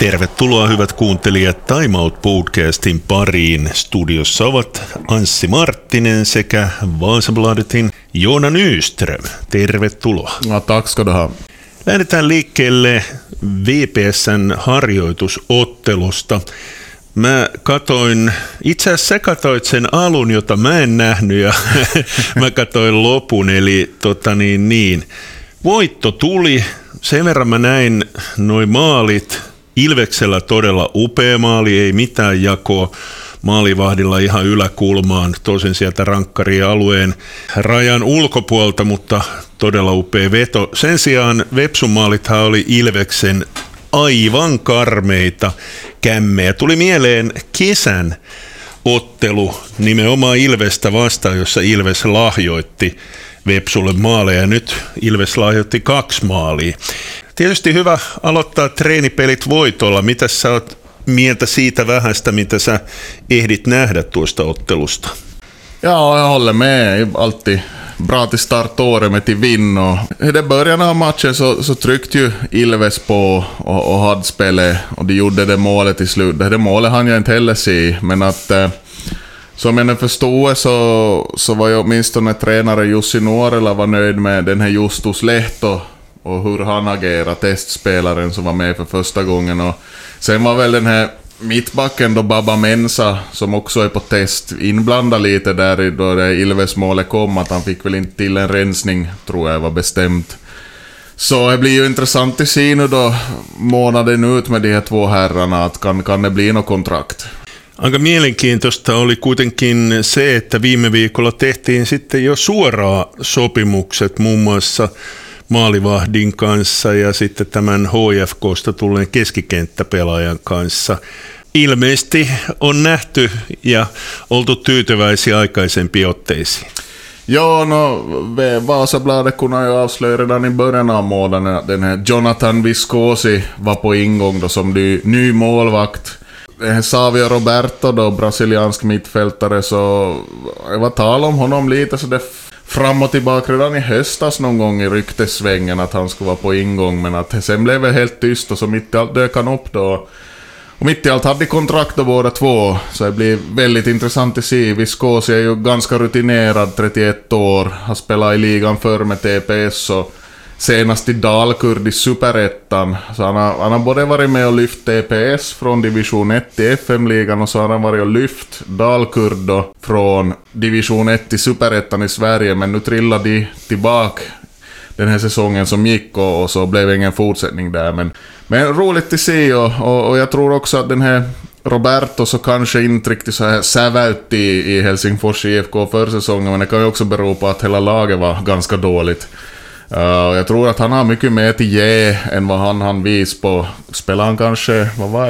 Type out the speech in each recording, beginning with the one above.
Tervetuloa hyvät kuuntelijat Time Out podcastin pariin. Studiossa ovat Anssi Marttinen sekä Vasabladetin Joona Nyström. Tervetuloa. Ja, tack ska du ha. Lähdetään liikkeelle VPS:n harjoitusottelusta. Itse asiassa sä katoit sen alun, jota mä en nähnyt, ja mä katoin lopun, eli voitto tuli. Sen verran mä näin noi maalit. Ilveksellä todella upea maali, ei mitään jakoa. Maalivahdilla ihan yläkulmaan, tosin sieltä rankkarialueen rajan ulkopuolta, mutta todella upea veto. Sen sijaan Vepsun maalithan oli Ilveksen aivan karmeita kämmejä. Tuli mieleen kesän ottelu nimenomaan Ilvestä vastaan, jossa Ilves lahjoitti Vepsulle maaleja. Nyt Ilves lahjoitti 2 maalia. Tietysti hyvä aloittaa treenipelit voitolla. Mitä sä oot mieltä siitä vähästä, mitä sä ehdit nähdä tuosta ottelusta? Ja, jag håller med. Alltid bra till start året till vinn. I det början av matchen så tryckte ju Ilves på och hade spelet, och de gjorde det målet till slut. Det målet hann jag inte heller se, men att som jag förstod så var ju åtminstone tränare Jussi Nuorela var nöjd med den här Justus Lehto och hur han agerar, testspelaren som var med för första gången. Och sen var väl den här mittbacken då, Baba Mensa, som också är på test, inblandad lite där då det Ilves målet kom, att han fick väl inte till en rensning, tror jag var bestämt. Så det blir ju intressant att se nu då månaden ut med de här 2 herrarna, att kan det bli något kontrakt. Aika mielenkiintoista oli kuitenkin se, että viime viikolla tehtiin sitten jo suoraan sopimukset muun muassa maalivahdin kanssa ja sitten tämän HFK:sta tulleen keskikenttäpelaajan kanssa. Ilmeisesti on nähty ja oltu tyytyväisiä aikaisempiin otteisiin. Ja, Vasabladet kunde ju avslöja redan i början av månaden att den här Jonathan Viscosi var på ingång då som ny målvakt. Savio Roberto då, brasiliansk mittfältare, så jag var tal om honom lite så det fram och tillbaka redan i höstas någon gång i ryktesvängen att han skulle vara på ingång, men att sen blev det helt tyst, och så mitt i allt dök han upp då. Och mitt i allt hade kontrakt då båda 2, så det blir väldigt intressant att se. Viscosi är ju ganska rutinerad, 31 år, har spelat i ligan förr med TPS och senast i Dalkurd i Superettan. Så han har både varit med och lyft TPS från division 1 till FM-ligan, och så har han varit och lyft Dalkurd då från division 1 till Superettan i Sverige, men nu trillade de tillbaka den här säsongen som gick, och så blev det ingen fortsättning där. Men roligt att se, och jag tror också att den här Roberto så kanske inte riktigt så här sävält i Helsingfors IFK för säsongen, men det kan ju också bero på att hela laget var ganska dåligt. Jag tror att han har mycket mer till ge än vad han vis på. Spelar han kanske,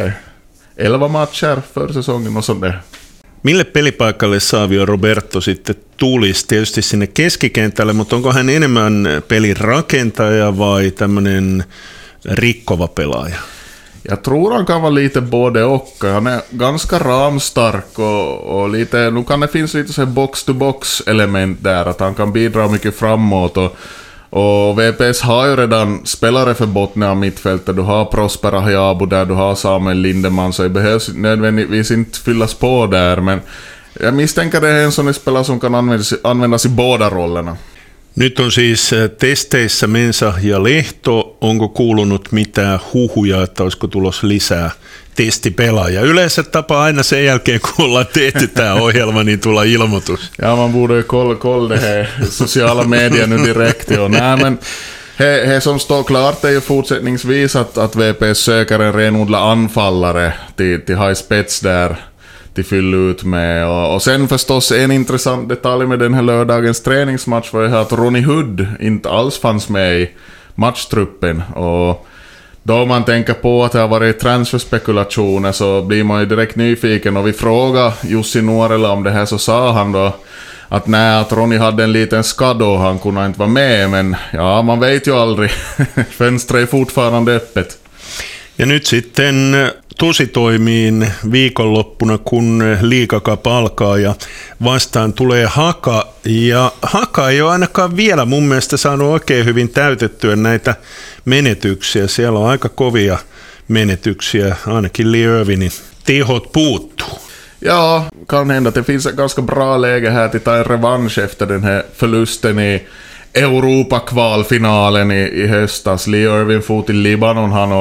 11 matcher för säsongen och sånt där. Mille pelipaikalle Savio Roberto sitten tulisi? Tietysti sinne keskikentälle, mutta onko hän enemmän pelin rakentaja vai tämmöinen rikkova pelaaja? Jag tror han kan vara lite både och. Han är ganska ramstark och lite, nu kan det finnas lite så box-to-box element där, att han kan bidra mycket framåt, och VPS har ju redan spelare för Botnia mittfältet. Du har Prosper Ahiabu där, du har Samuel Lindeman, så det behövs nödvändigtvis inte fyllas på där, men jag misstänker det är en sån spelare som kan användas i båda rollerna. Nyt on siis testeissä Mensa ja Lehto. Onko kuulunut mitään huhuja, että olisiko tulossa lisää testipelaaja? Yleensä tapaa aina sen jälkeen, kun ollaan tehty tämä ohjelma, niin tulla ilmoitus. Ja, man borde ju kolla det här sociala medier nu direkt. Nej, men det som står klart är ju fortsättningsvis att VP söker en renodlad anfallare till high spets där till fylla ut med. Och sen förstås en intressant detalj med den här lördagens träningsmatch var ju att Ronny Hood inte alls fanns med i matchtruppen, och då man tänker på att det har varit transferspekulationer så blir man ju direkt nyfiken, och vi frågade Jussi Nuorela om det här, så sa han då att att Ronny hade en liten skada och han kunde inte vara med, men ja, man vet ju aldrig. Fönstret är fortfarande öppet. Ja nyt sitten tositoimiin viikonloppuna, kun Liigacap alkaa ja vastaan tulee Haka. Ja Haka ei ole ainakaan vielä mun mielestä saanut oikein hyvin täytettyä näitä menetyksiä. Siellä on aika kovia menetyksiä, ainakin Lee Irvinin tehot puuttuu. Ja, kan hända att det finns ett ganska bra läge här till ta en revansch efter den här förlusten i Europa-kvalfinalen i höstas. Lee Irvin for till Libanon han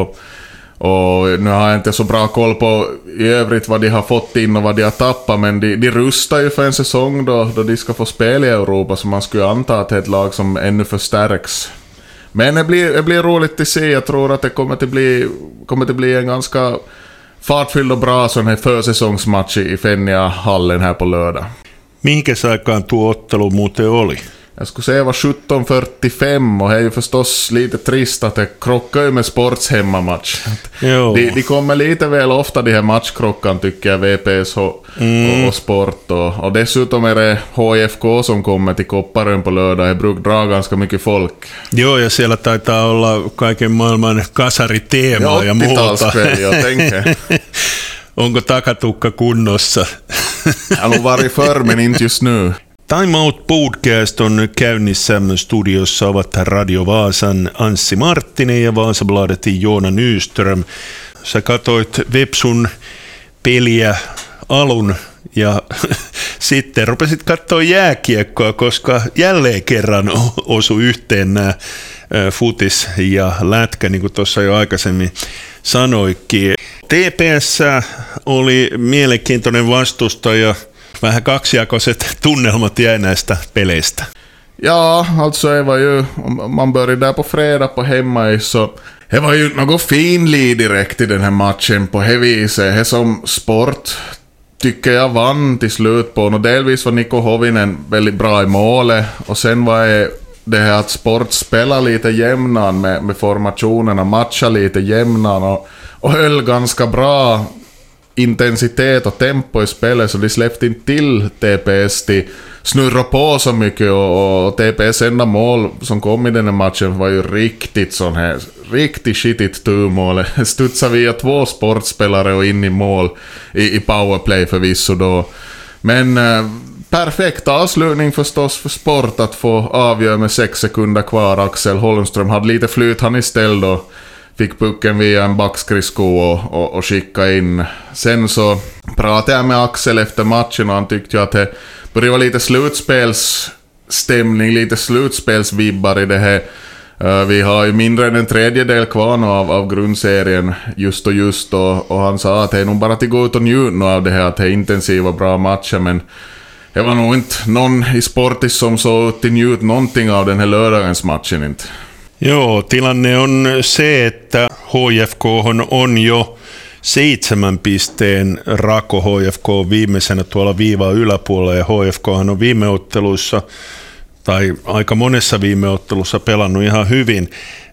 och nu har jag inte så bra koll på i övrigt vad de har fått in och vad de har tappat, men de rustar ju för en säsong då de ska få spela i Europa, så man skulle anta att det är ett lag som ännu förstärks. Men det blir roligt att se. Jag tror att det kommer att bli en ganska fartfylld och bra sån här försäsongsmatch i Fennia-hallen här på lördag. Mihinkäs aikaan tuo ottelu muuten oli? Jag skulle säga var 17:45 och det är ju förstås lite trist att det krockar ju med Sports hemmamatch. De kommer lite väl ofta de här matchkrockan tycker jag, VPS och Sport och dessutom är det HIFK som kommer till Kopparön på lördag. Det brukar dra ganska mycket folk. Joo, ja siellä taitaa olla kaiken maailman kasariteemaa ja muuta. Jag tänker. Onko takatukka kunnossa? Jag har nog varit förr men inte just nu. Time Out Podcast on käynnissä. Studiossa ovat Radio Vaasan Anssi Marttinen ja Vasabladetin Joona Nyström. Sä katoit Vepsun peliä alun ja sitten rupesit katsoa jääkiekkoa, koska jälleen kerran osui yhteen nämä futis ja lätkä, niin kuin tuossa jo aikaisemmin sanoikin. TPS oli mielenkiintoinen vastustaja. Vähän kaksijakoiset tunnelmat jäi näistä peleistä. Ja, alltså det var ju, man började där på fredag på hemmais, så det var ju något finlir direkt i den här matchen på det viset. Det som Sport tycker jag vann till slut på, och delvis var Niko Hovinen väldigt bra i målet, och sen var det här att Sport spelar lite jämnan med formationerna, matchar lite jämnan och höll ganska bra intensitet och tempo i spelet, så de släppte inte till TPS till snurra på så mycket, och TPS enda mål som kom i den här matchen var ju riktigt skitigt turmål. Studsade via 2 sportspelare och in i mål i powerplay förvisso då. Men perfekt avslutning förstås för Sport att få avgöra med 6 sekunder kvar. Axel Holmström hade lite flyt han istället då. Fick pucken via en backskridsko och skicka in. Sen så pratade jag med Axel efter matchen och han tyckte ju att det började vara lite slutspelsstämning, lite slutspelsvibbar i det här. Vi har ju mindre än en tredjedel kvar nu av grundserien just och han sa att det är nog bara att gå ut och njuta av det här, att det är intensiva bra matcher, men det var nog inte någon i Sportis som så ut till njut någonting av den här lördagens matchen inte. Joo, tilanne on se, että HFK on jo 7 pisteen rako. HFK on viimeisenä tuolla viivaa yläpuolella, ja HFK on viime otteluissa tai aika monessa viime ottelussa pelannut ihan hyvin.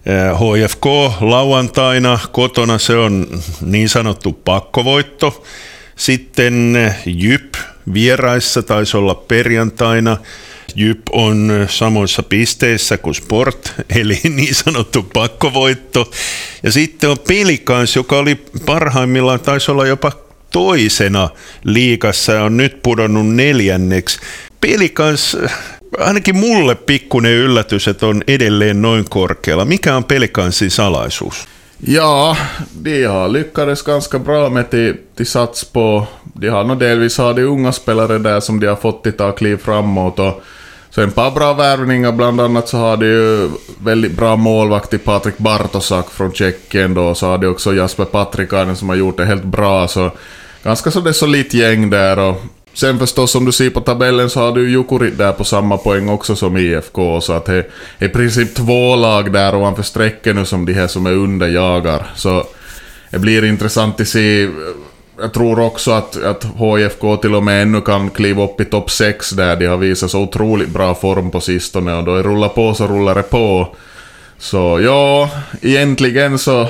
HFK lauantaina kotona se on niin sanottu pakkovoitto. Sitten JYP vieraissa taisi olla perjantaina. JYP on samoissa pisteissä kuin Sport, eli niin sanottu pakkovoitto. Ja sitten on Pelicans, joka oli parhaimmillaan, taisi olla jopa toisena liigassa ja on nyt pudonnut 4. Pelicans, ainakin mulle pikkuinen yllätys, että on edelleen noin korkealla. Mikä on Pelicansin salaisuus? Ja, de har lyckades ganska bra med till sats på. De har nog delvis har de unga spelare där som de har fått till ta kliv framåt, och så en par bra värvningar, bland annat så har de ju väldigt bra målvakt i Patrik Bartosak från Tjeckien då, så har de också Jasper Patrikainen som har gjort det helt bra, så ganska så det är så lite gäng där, och sen förstås som du ser på tabellen så har du Jukurit där på samma poäng också som IFK, så att det är i princip 2 lag där ovanför strecken nu som de här som är under jagar, så det blir intressant att se. Jag tror också att HFK till och med ännu kan kliva upp i topp 6 där. De har visat så otroligt bra form på sistone, och då det rullar på så rullar det på. Så ja, egentligen så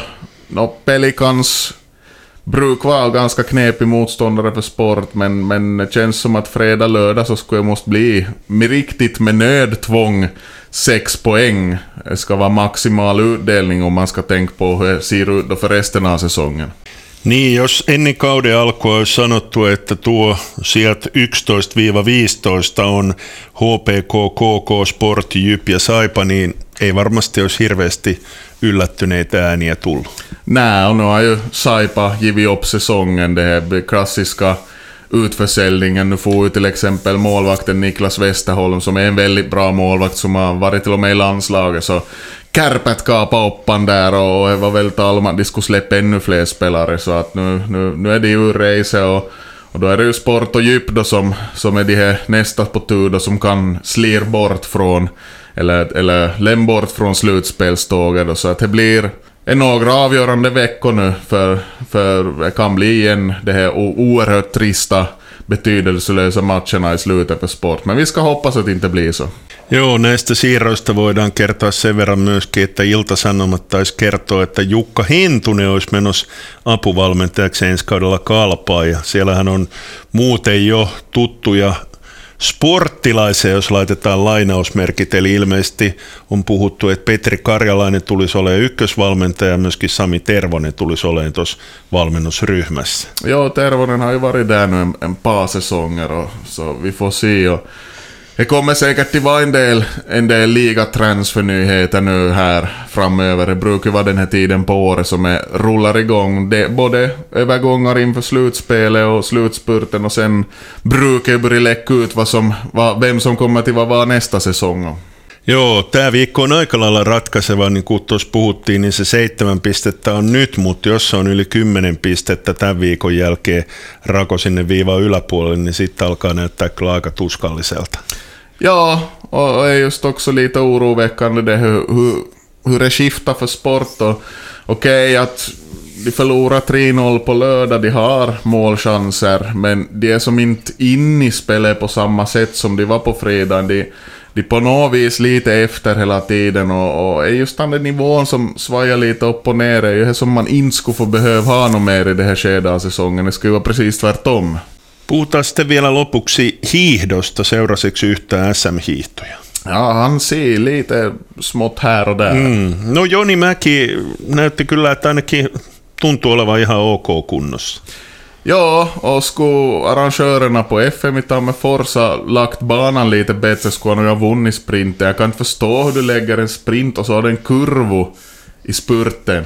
Pelicans brukar vara ganska knepig motståndare för Sport, men det känns som att fredag lördag så skulle det måste bli riktigt med nödtvång 6 poäng. Det ska vara maximal utdelning om man ska tänka på hur det ser ut då för resten av säsongen. Niin, jos ennen kauden alkua olisi sanottu, että tuo sieltä 11-15 on HPK, KK, Sport, Jyp ja Saipa, niin ei varmasti olisi hirveästi yllättyneitä ääniä tullut. Nej, och nu har ju Saipa givit upp säsongen, det här klassiska utförsäljningen. Nu får ju till exempel målvakten Niklas Westerholm som är en väldigt bra målvakt som har varit till och med i landslaget, så Kärpät kapade oppan där och det var väl tal om att de skulle släppa ännu fler spelare, så att nu är det ju race och då är det ju Sport och Djup då som är de här nästa på tur då, som kan slir bort från eller lämna bort från slutspelståget då, så att det blir några avgörande veckor nu för det kan bli igen det här oerhört trista betydelselösa matcherna i slutet för Sport, men vi ska hoppas att det inte blir så. Joo, näistä siirroista voidaan kertoa sen verran myöskin, että Ilta-Sanomat taisi kertoa, että Jukka Hentunen olisi menossa apuvalmentajaksi ensi kaudella Kalpaan, ja siellähän on muuten jo tuttuja sporttilaisia, jos laitetaan lainausmerkit, eli ilmeisesti on puhuttu, että Petri Karjalainen tulisi olemaan ykkösvalmentaja ja myöskin Sami Tervonen tulisi olemaan tuossa valmennusryhmässä. Joo, Tervonen har ju varit där nu en par säsonger, så vi får se. Och det kommer säkert att vara en del ligatransfernyheter nu här framöver. Det brukar vara den här tiden på året som rullar igång. Både övergångar inför slutspelet och slutspurten, och sen brukar det börja läcka ut vem som kommer till vara nästa säsong. Joo, tämä viikko on aika lailla ratkaiseva, niin kuin tuossa puhuttiin, niin se 7 pistettä on nyt, mutta jos se on yli 10 pistettä tämän viikon jälkeen rako sinne viivan yläpuolelle, niin sitten alkaa näyttää kyllä aika tuskalliselta. Ja, och är just också lite oroväckande det hur det skiftar för Sport. Okej, att de förlorar 3-0 på lördag, de har målchanser, men de är som inte inne i spelet på samma sätt som de var på fredagen. De på något vis lite efter hela tiden, och är just den nivån som svajar lite upp och ner, är ju det som man inte skulle få behöva ha något mer i det här skedet av säsongen. Det skulle vara precis tvärtom. Puhutaan sitten vielä lopuksi hiihdosta. Seurasiksi yhtään SM-hiihtoja? Ja, han ser lite smått här och där. No Joni Mäki näytti kyllä, että ainakin tuntuu olevan ihan ok kunnossa. Ja, och skulle arrangörerna på FM i Tammerfors ha lagt banan lite bättre, skulle han ha vunnit sprinten. Jag kan inte förstå hur du lägger en sprint och så har du en kurvo i spurten.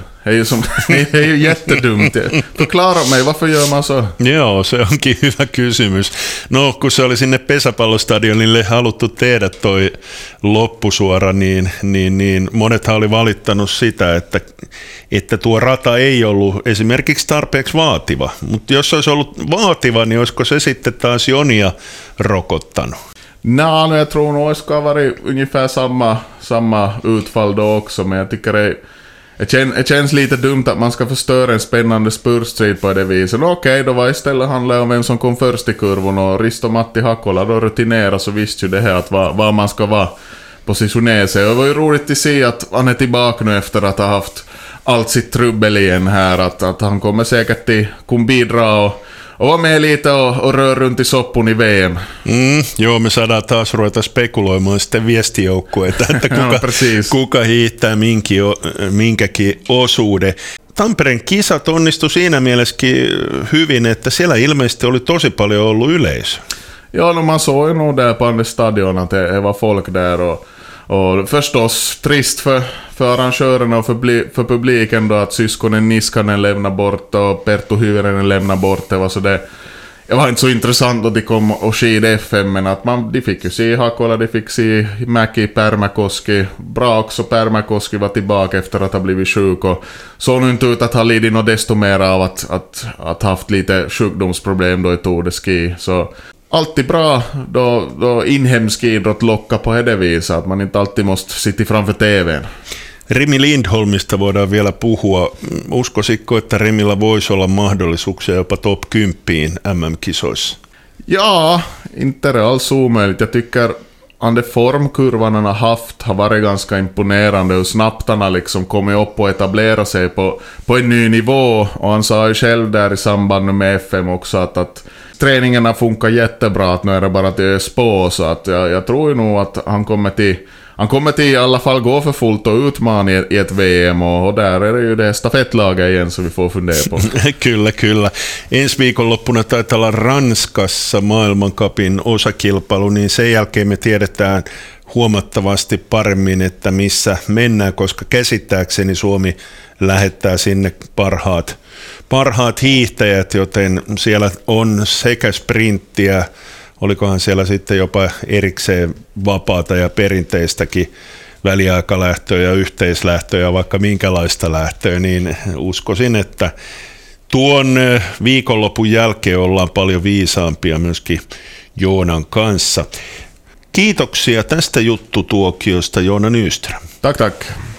Det är ju jättedumt. Förklara mig, varför gör man så? Joo, se onkin hyvä kysymys. No, kun se oli sinne pesäpallostadionille haluttu tehdä toi loppusuora, niin monethan oli valittanut sitä, että tuo rata ei ollut esimerkiksi tarpeeksi vaativa. Mutta jos olisi ollut vaativa, niin olisiko se sitten taas Jonia rokottanut? Nej, jag tror nog det ska vara ungefär samma utfall då också, men jag tycker det känns lite dumt att man ska förstöra en spännande spurtstrid på det viset. Okej, då var istället handlar om vem som kom först i kurvan, och Risto Matti Hakola då rutinerade, så visste ju det här att var man ska vara positionera sig. Och det var ju roligt att se att han är tillbaka nu efter att ha haft allt sitt trubbel igen här, att han kommer säkert till bidra och var med lite och rör runt i soppun i VM. Joo, me saadaan taas ruveta spekuloimaan sitten viestijoukkueita, että kuka hiihtää minkäkin osuuden. Tampereen kisat onnistui siinä mielessäkin hyvin, että siellä ilmeisesti oli tosi paljon ollut yleisö. Ja, no, man såg ju nog där på andra stadion att det var folk där, och förstås trist för arrangörerna och för publiken då att syskonen Niskanen lämnar bort och Perttu Hyvärinen lämnar bort. Det var inte så intressant att de kom och skida FM, men att de fick ju se Hakola, de fick se Mäki, Pärmäkoski. Bra också, Pärmäkoski var tillbaka efter att ha blivit sjuk, och såg nu inte ut att ha lidit något desto mer av att haft lite sjukdomsproblem då i Tour de Ski. Så alltid bra då inhemsk idrott lockar på det viset, att man inte alltid måste sitta framför TVn. Rimi Lindholmista voidaan vielä puhua. Uskoisitko, että Rimillä voisi olla mahdollisuuksia jopa top 10 MM-kisoissa? Ja, inte alls omöjligt. Jag tycker den formkurvan han har haft har varit ganska imponerande, hur snabbt han har liksom kommit upp och etablerat sig på en ny nivå. Och han sa ju själv där i samband med FM också att träningarna funkar jättebra, att nu är det bara att ös på, så att jag tror ju nog att han kommer till han kommer till i alla fall gå för fullt och utmana i ett VM, och där är det ju det stafettlaget igen som vi får fundera på. Kyllä. Ensi viikonloppuna taitaa olla Ranskassa maailmancupin osakilpailu, niin sen jälkeen me tiedetään huomattavasti paremmin, että missä mennään, koska käsittääkseni Suomi lähettää sinne parhaat hiihtäjät, joten siellä on sekä sprinttiä, olikohan siellä sitten jopa erikseen vapaata ja perinteistäkin väliaikalähtöä ja yhteislähtöä ja vaikka minkälaista lähtöä, niin uskoisin, että tuon viikonlopun jälkeen ollaan paljon viisaampia myöskin Joonan kanssa. Kiitoksia tästä juttutuokiosta, Joona Nyström. Tack.